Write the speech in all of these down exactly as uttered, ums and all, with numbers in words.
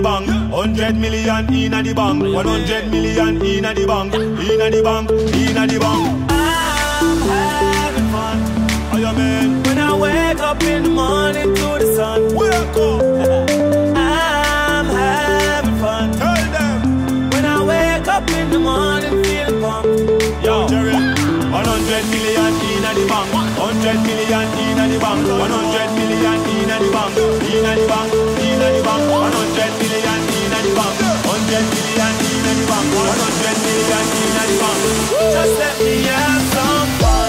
bank. Hundred million inna the bank. One hundred million inna the bank. Inna the bank, inna the bank. I'm having fun. Oh yeah, man. When I wake up in the morning to the sun. Wake up. I'm having fun. Tell them. When I wake up in the morning feeling pumped. Yo, Jerry. One hundred million inna the bank. Hundred million inna the bank. One hundred million inna the bank. Inna the bank, inna the bank. One hundred million inna the bank. Hundred million inna the bank. One hundred million inna the bank. Just let me have some fun.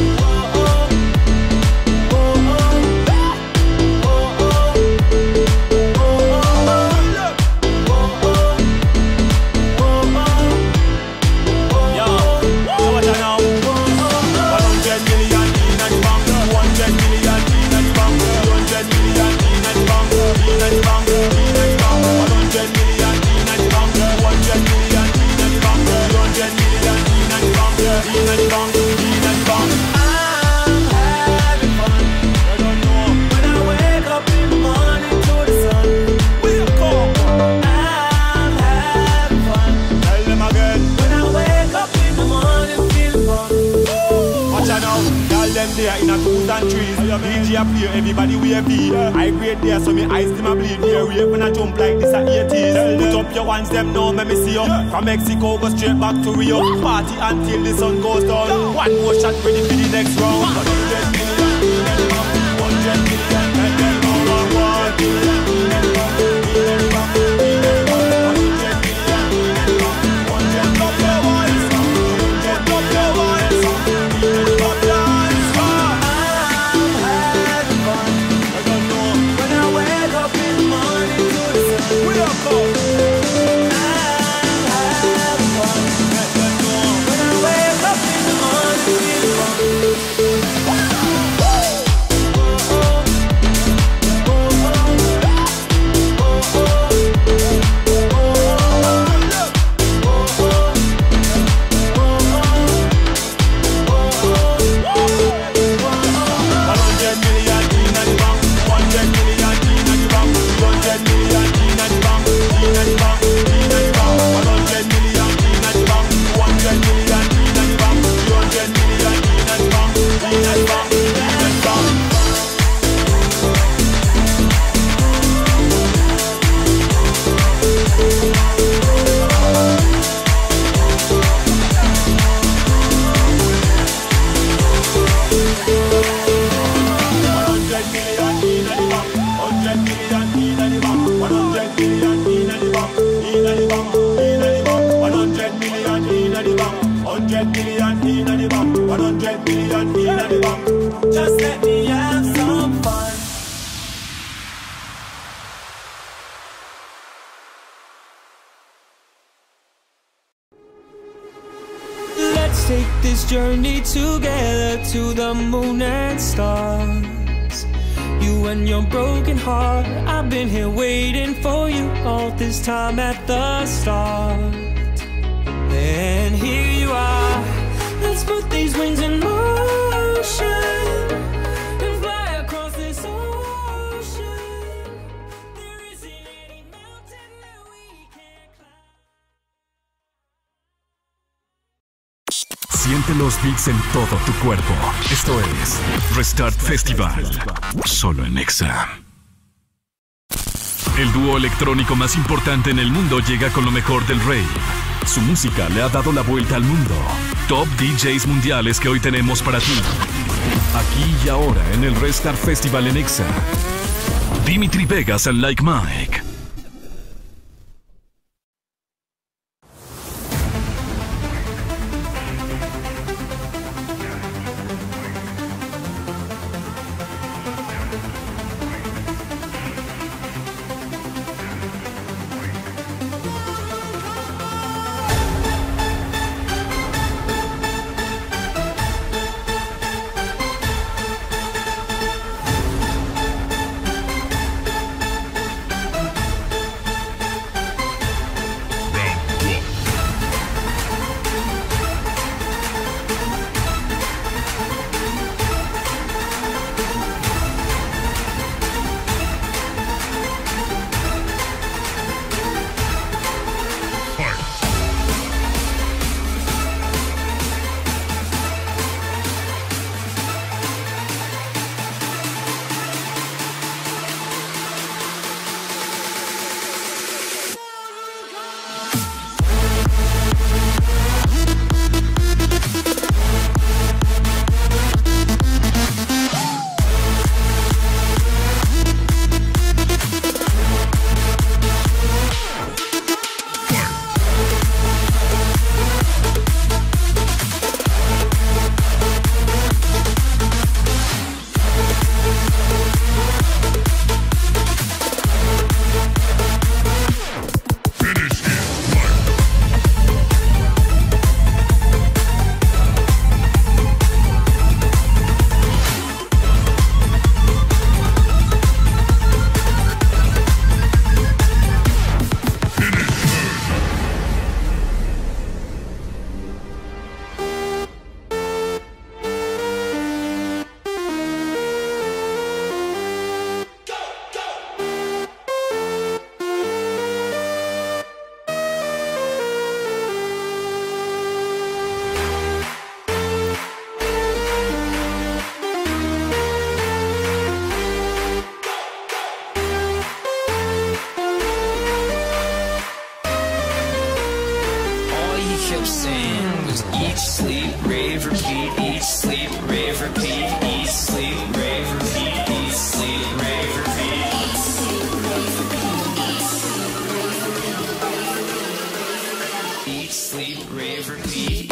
In a twos and threes, D J a play, everybody wave beat. I grade there, so me eyes them a bleed. Yeah, rave when I jump like this at eighties. Put up your hands, them now, let me see you. From Mexico, go straight back to Rio. Party until the sun goes down. One more shot, ready for the next round. One hundred million, one hundred million, and then one one million. Take this journey together to the moon and stars. You and your broken heart, I've been here waiting for you all this time at the start. And here you are, let's put these wings in motion and fly across this ocean. There isn't any mountain that we can't climb. Siente los beats en todo tu cuerpo. Esto es Restart Festival, solo en Nexa. El dúo electrónico más importante en el mundo llega con lo mejor del rave. Su música le ha dado la vuelta al mundo. Top D Js mundiales que hoy tenemos para ti. Aquí y ahora en el Restart Festival en Nexa. Dimitri Vegas and Like Mike. saying was eat, sleep, rave, repeat, eat, sleep, rave, repeat, eat, sleep, rave, repeat, eat, sleep, rave, repeat. Eat, sleep, rave, repeat.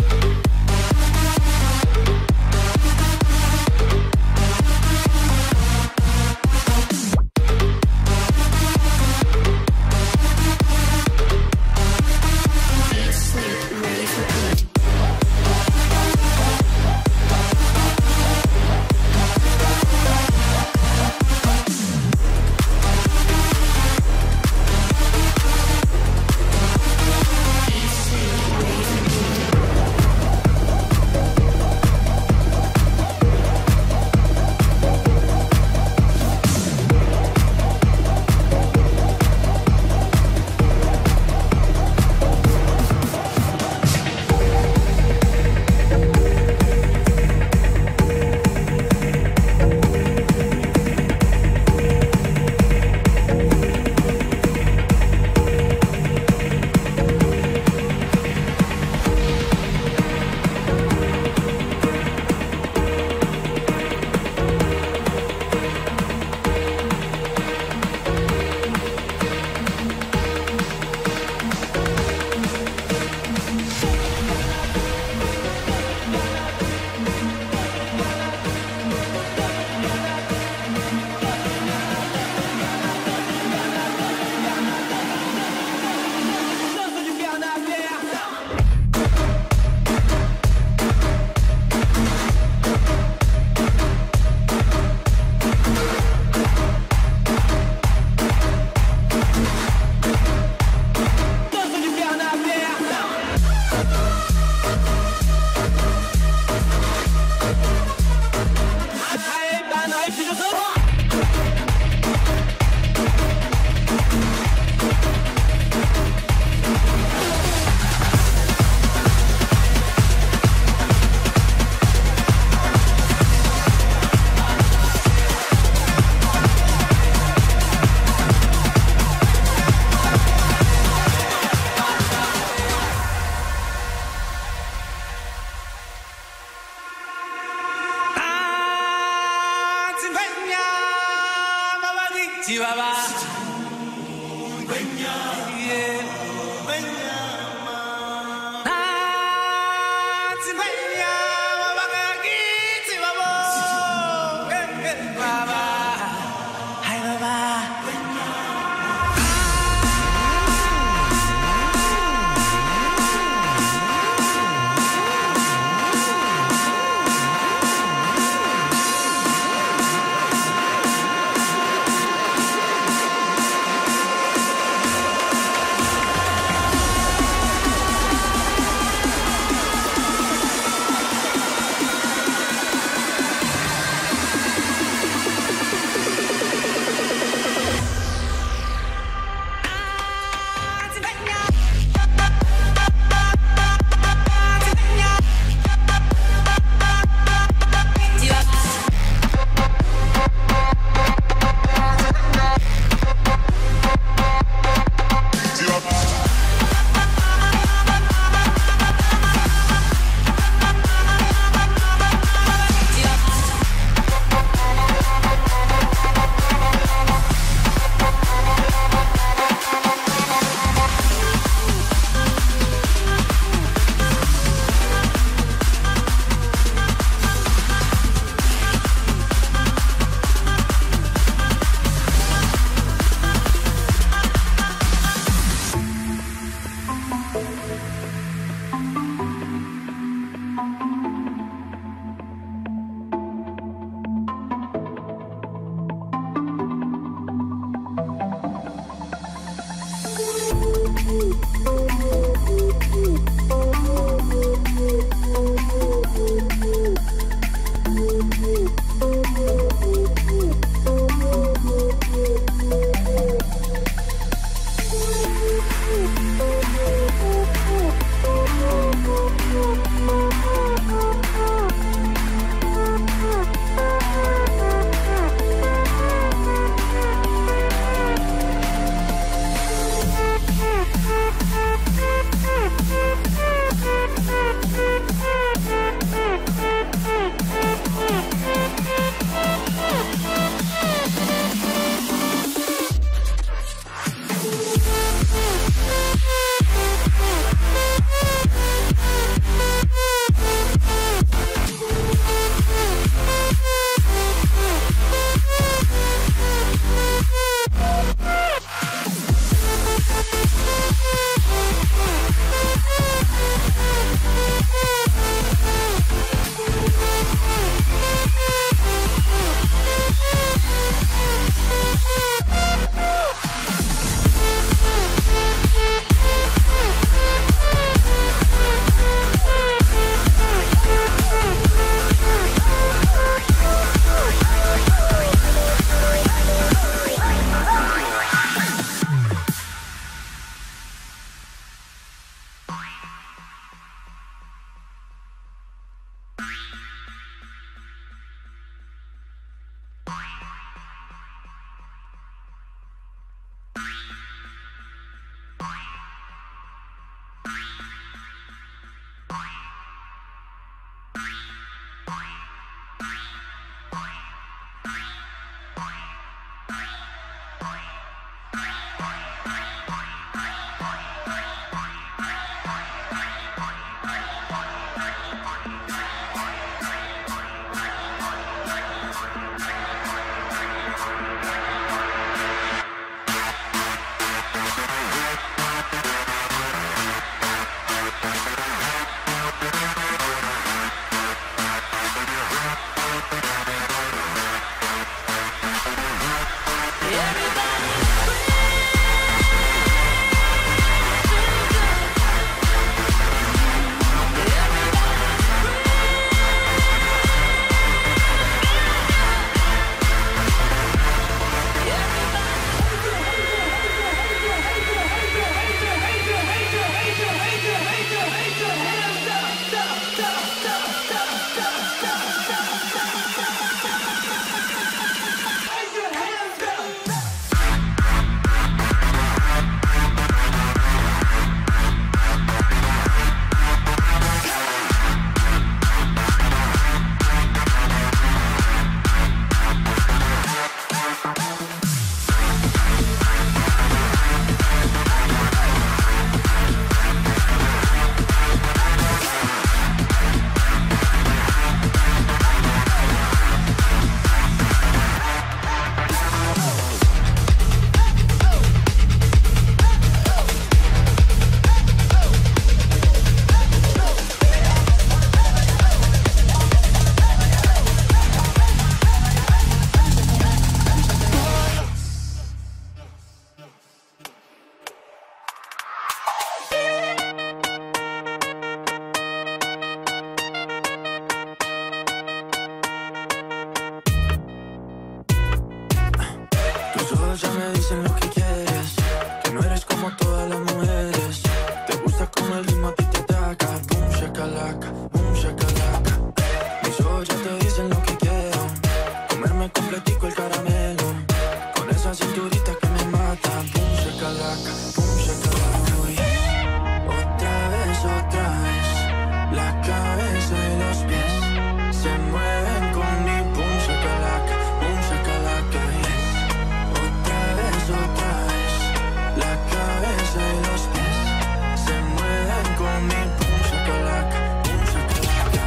todas las mujeres. Te gusta como el ritmo a ti te ataca. Boom, shakalaka, boom, shakalaka. Mis ojos ya te dicen lo que quiero. Comerme completico el caramelo. Con esa cinturita que me mata. Boom, shakalaka, boom, shakalaka. Otra vez, otra vez. La cabeza y los pies se mueven con mi boom, shakalaka, boom, shakalaka. Otra vez, otra vez. La cabeza y los pies se mueven con mi boom, shakalaka, boom, shakalaka.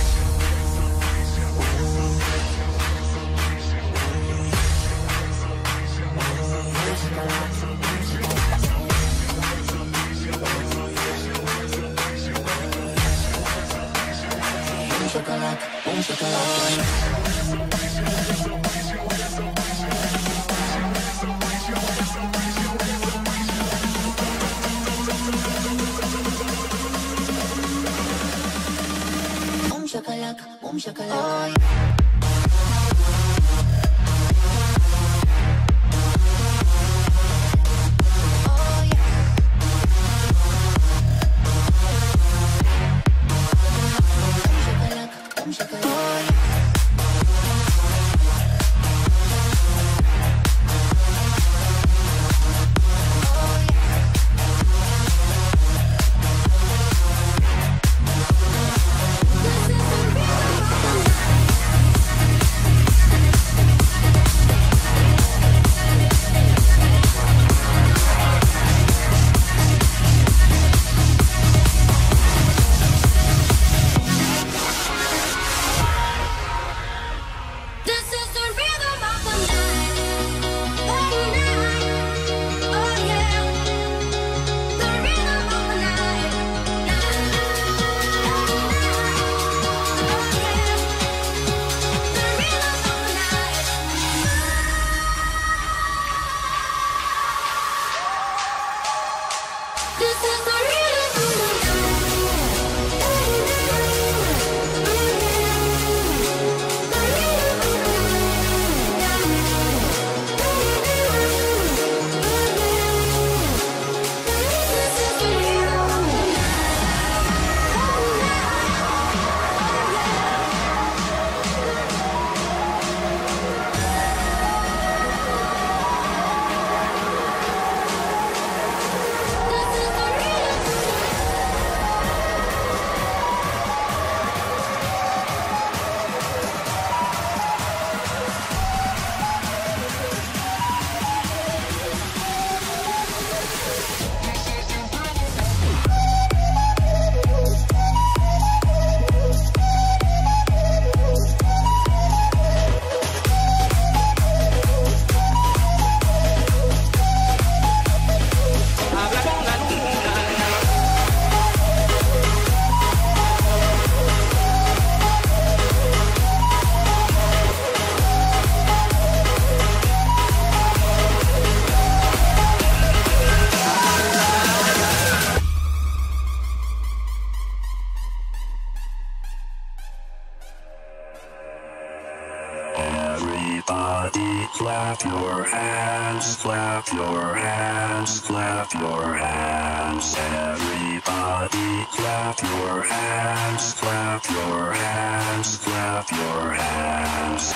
Shakalaka, boom, shakalaka. Boom, shakalaka, boom, shakalaka. Everybody clap your hands, clap your hands, clap your hands. Everybody clap your hands, clap your hands, clap your hands.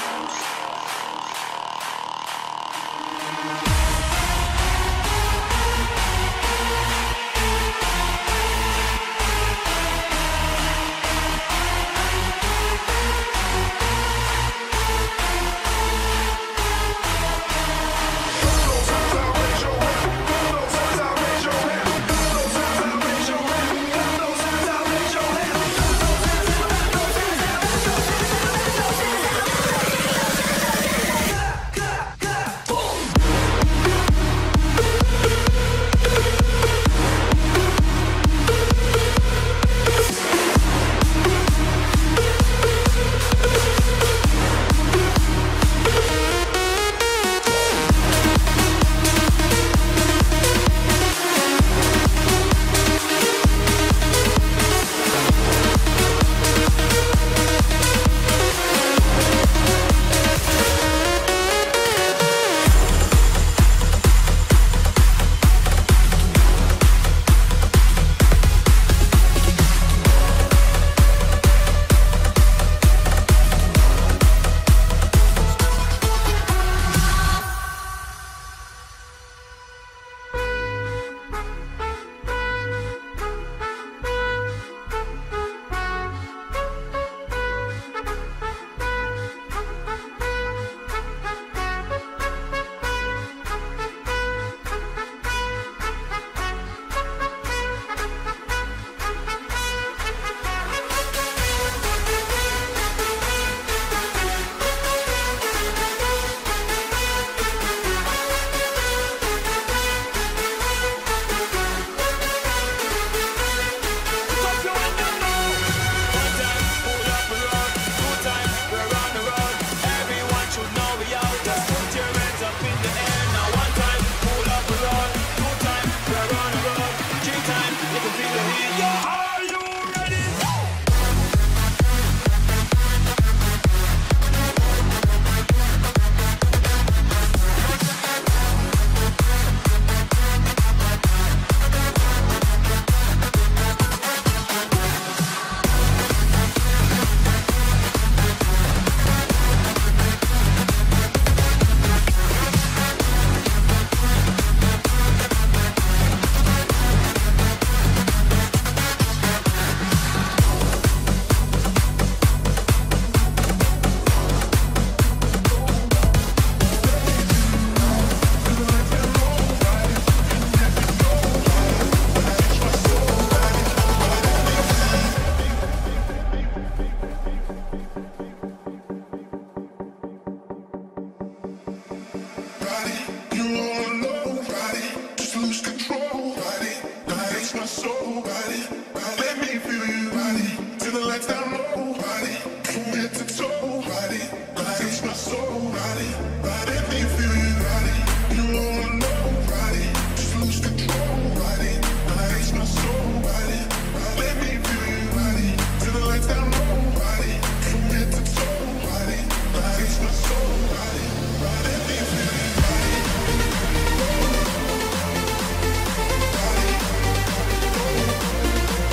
my soul, body, body. Let me feel you, body. Till the lights down low, body. From head to toe, body, body. Touch my soul, body, body. Let me feel you, body. You wanna know, body. Just lose control, body, body. Touch my soul, body, body. Let me feel you, body. Till the lights down low, body. From head to toe, body, body. Touch my soul, body, body. Let me feel you, body. Body.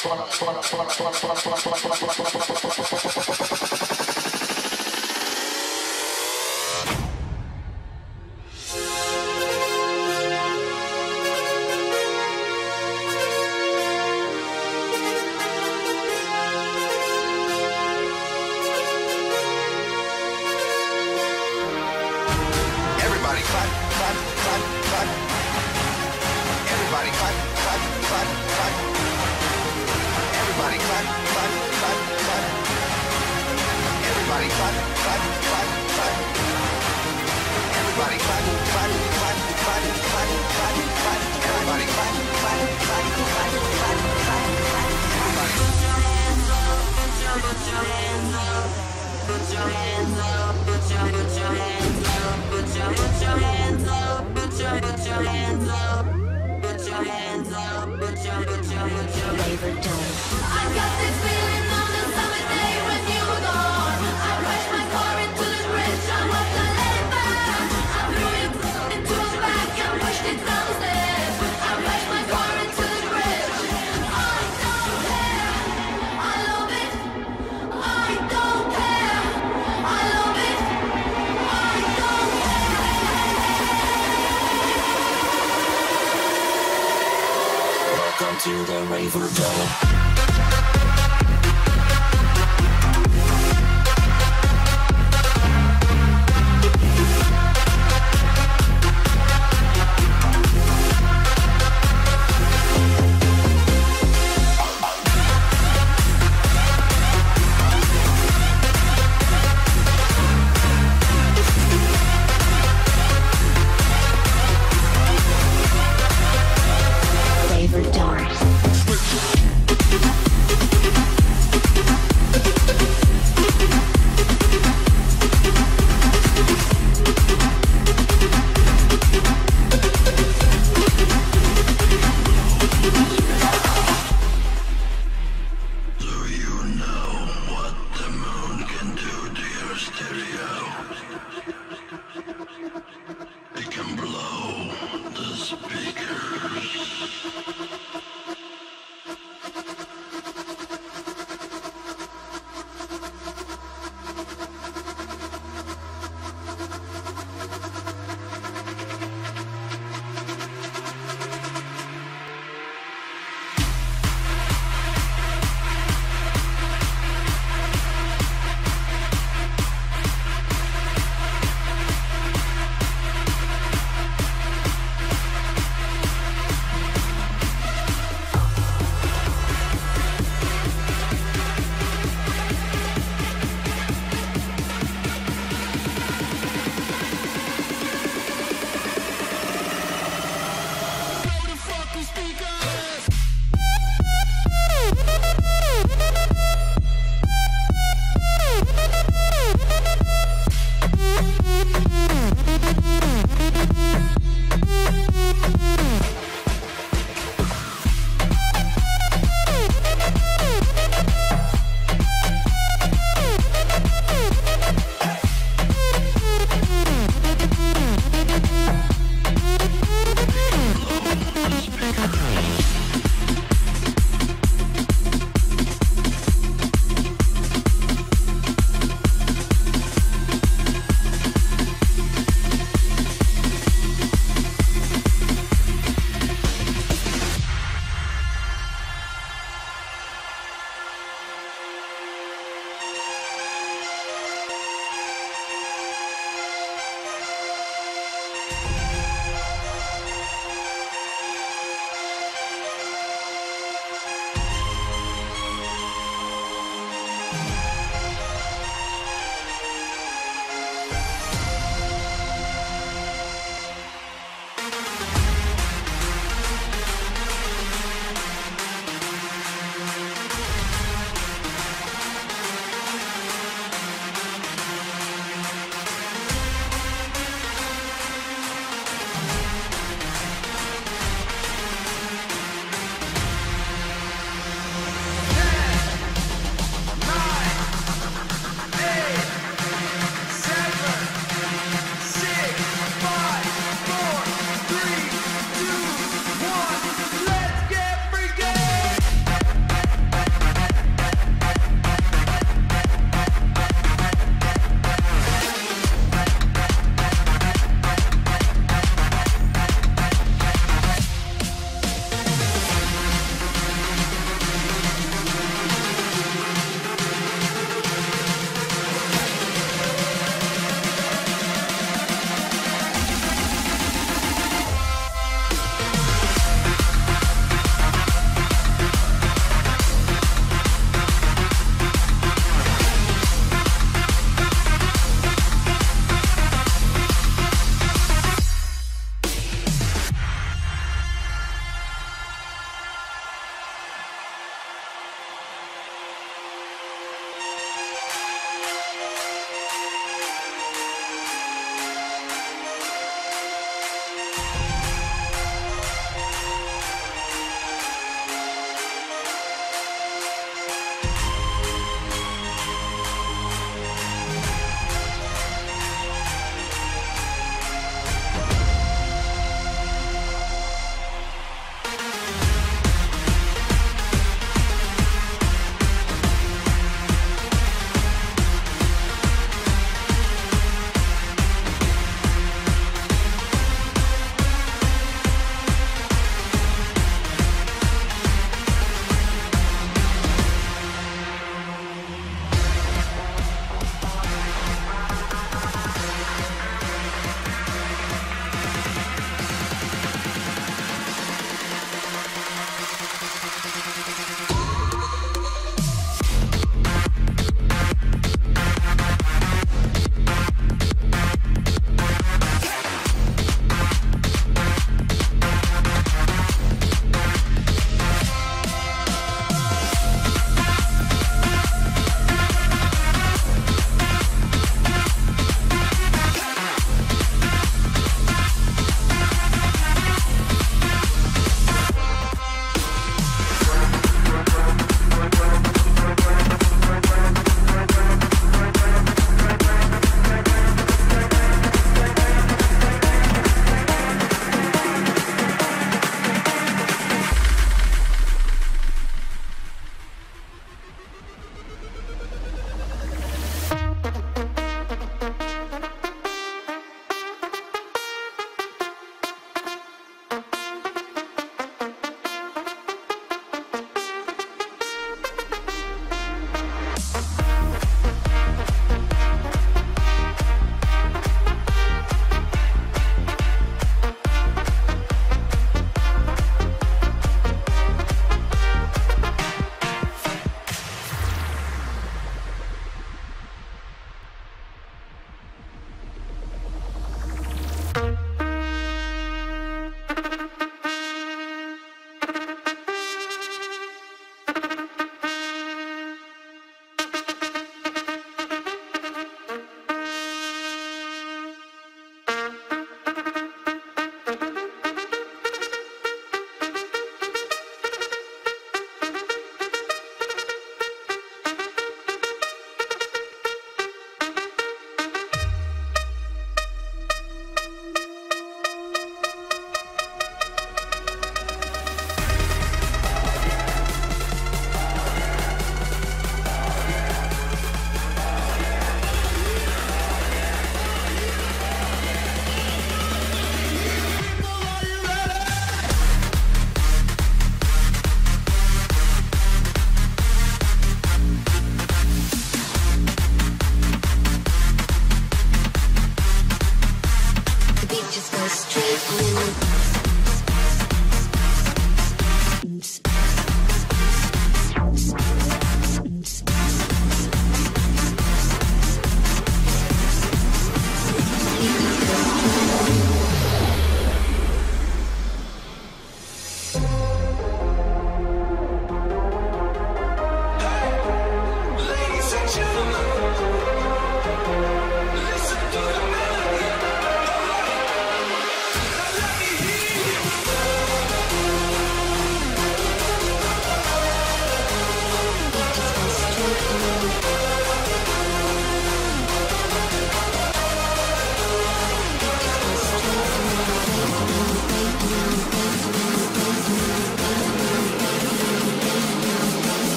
Everybody clap, clap, clap, clap. Everybody clap, clap, clap, clap. Everybody clap, clap, clap, clap. Everybody clap, clap, clap, clap. Everybody clap, clap, clap, clap, clap, clap, clap. Everybody clap, clap, clap, clap, clap, clap. Everybody. Put your hands up, put your hands up, put your put your hands up, put your put your hands up, put your put your hands up, put your hands up, put your put your put your favorite dome. I got this feeling on the summer day when you were gone. I crashed my car into the bridge, I walked and let it burn. I threw it into a bag and pushed it down the stairs. I crashed my car into the bridge. I don't care, I love it. I don't care, I love it. I don't care. Welcome to the Raver Dome. Raver Dome.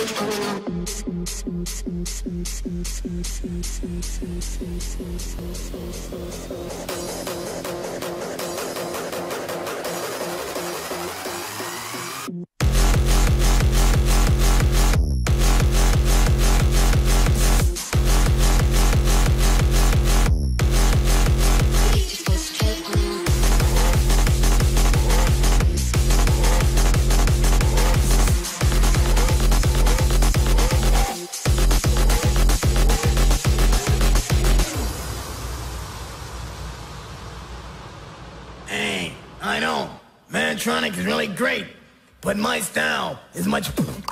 Mantronic is really great, but my style is much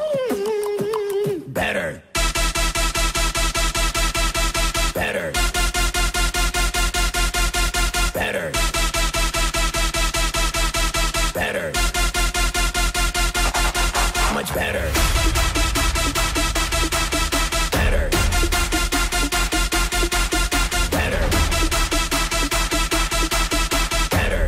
better. Better. Better. Better. Much better. Better. Better. Better.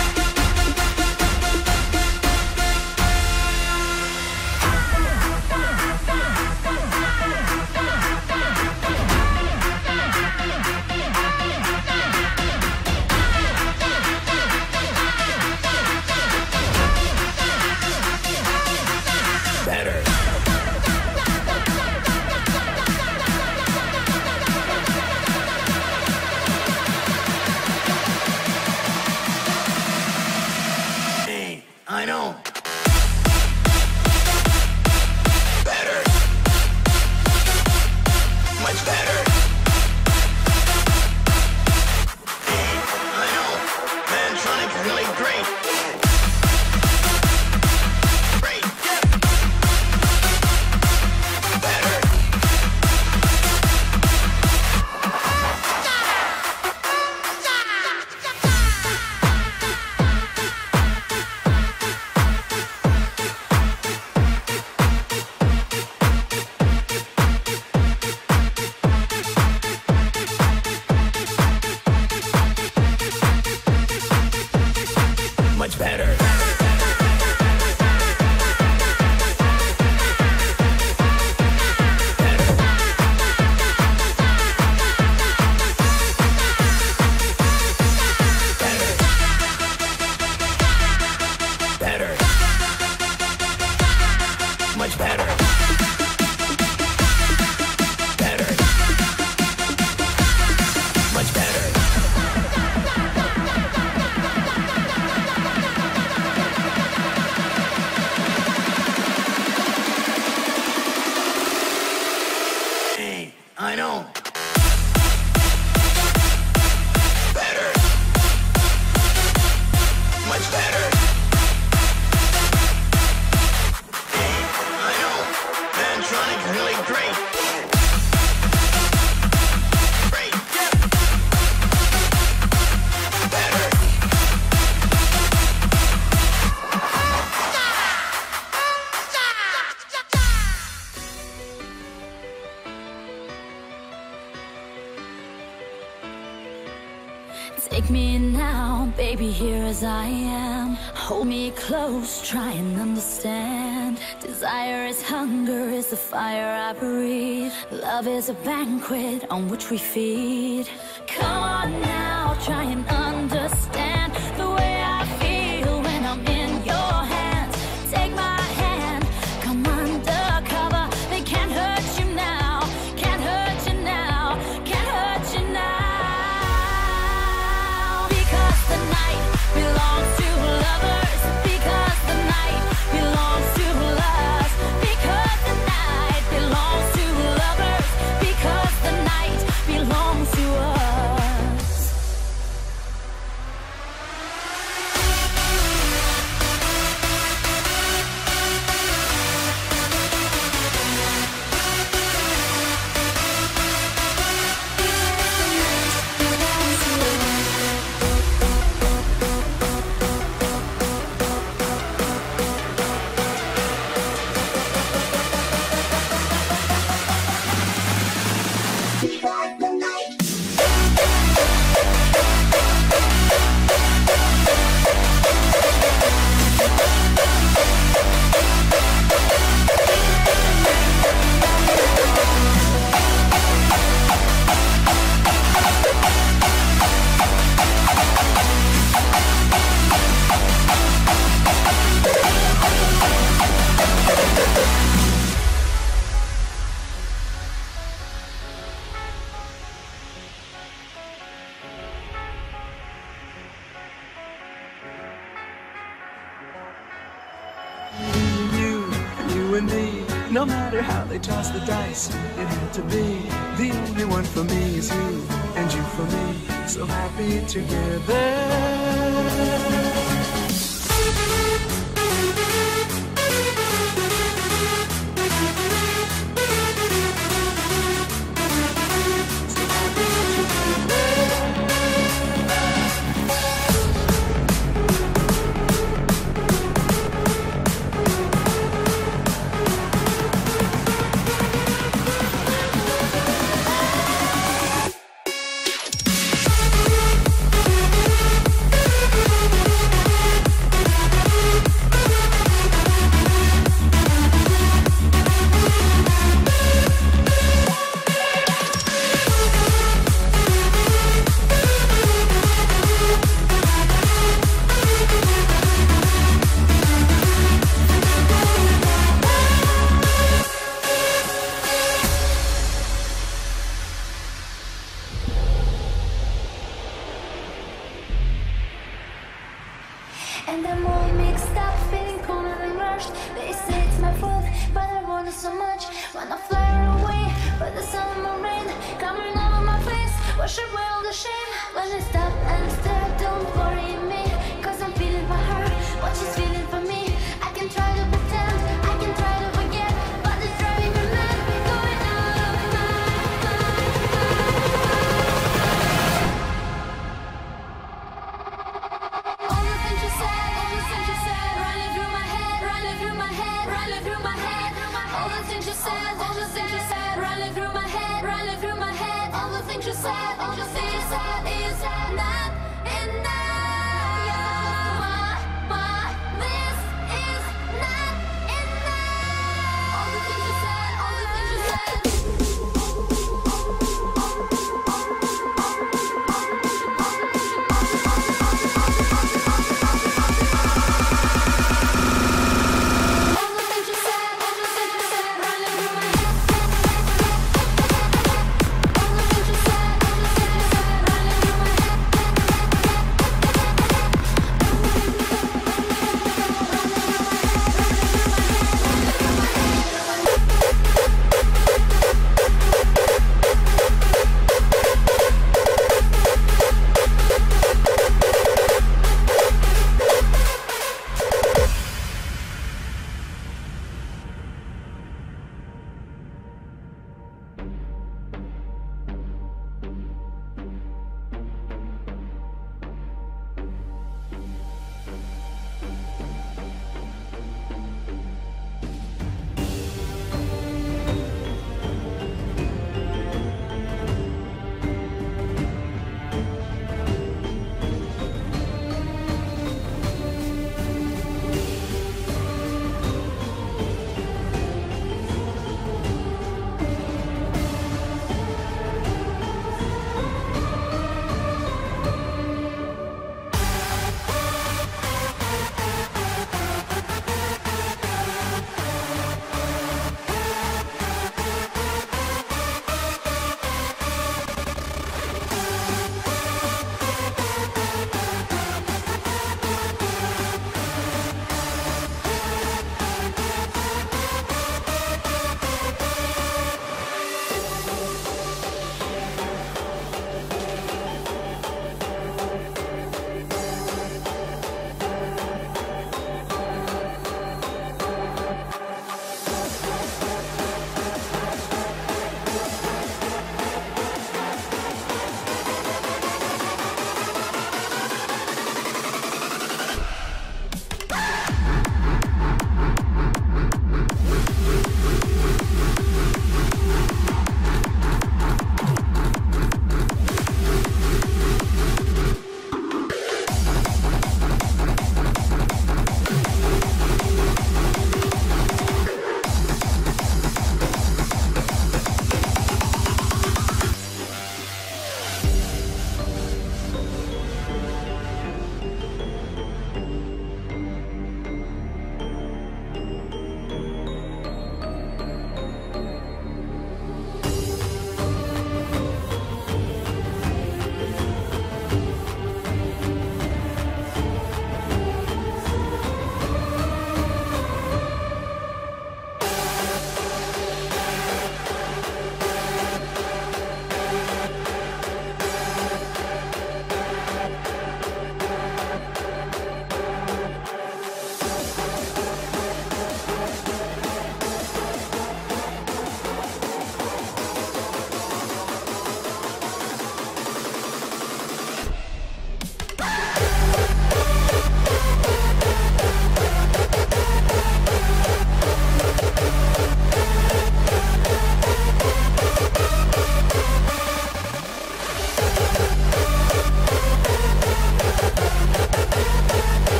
I know. Better. Much better. Hey, I know. Mantronic is really great. Great. Better. Much better. Better. Much better. Better. Much better. Hey, I know. Better. Much better. Hey, I know. Mantronic is really great. Great. Better. Take me in now, baby, here as I am. Hold me close, try and understand. Desire is hunger, is the fire I breathe. Love is a banquet on which we feed. Come on now, try and understand the way I feel when I'm in your hands. Take my hand, come undercover. They can't hurt you now, can't hurt you now, can't hurt you now. The night belongs to lovers, because the night belongs to us, because the night belongs to lovers, because the night belongs to us. No matter how they toss the dice, it had to be. The only one for me is you, and you for me. So happy together. And I'm all mixed up, feeling cornered and rushed. They say it's my fault, but I want it so much. Wanna fly away, but the sun and the rain coming over my face. Wash away all the shame. When I stop and stare, don't worry me, cause I'm feeling for her what she's feeling for me. I can try to pretend, I can try to forget, but it's driving me mad, going out of my all the things you said, all the things you said, running through my head, running through my head, running through my head. All the things you said, all the things you said, running through my head, running through my head. All the things you said, all the things you said is not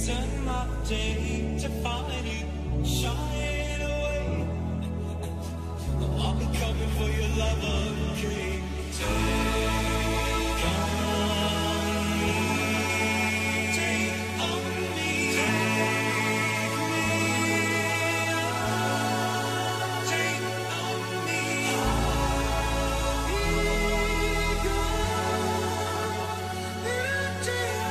hasten my day to find you shying away. I'll be coming for your love again. Take on me, take on me, take me on, take on me. I'll be gone, you take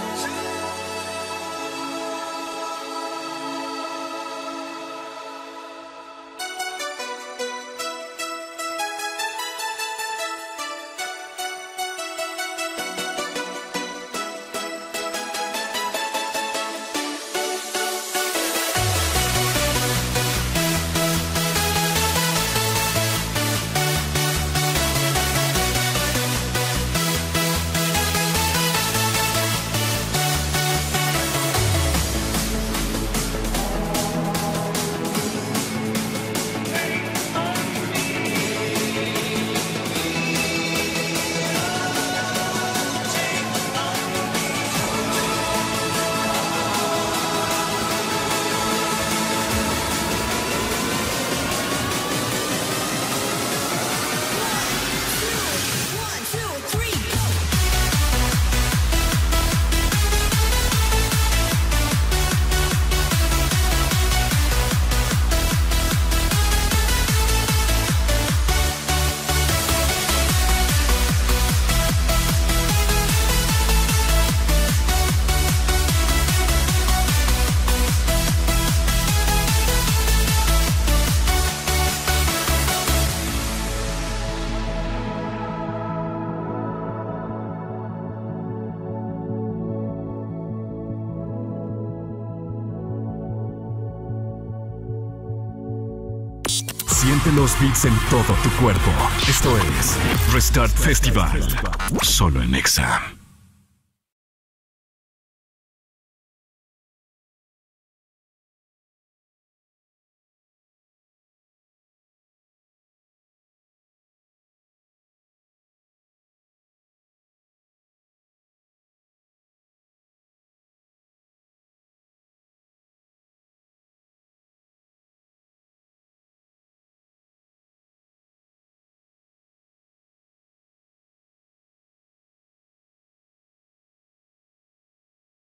Siente los beats en todo tu cuerpo. Esto es Restart Festival. Solo en Exa.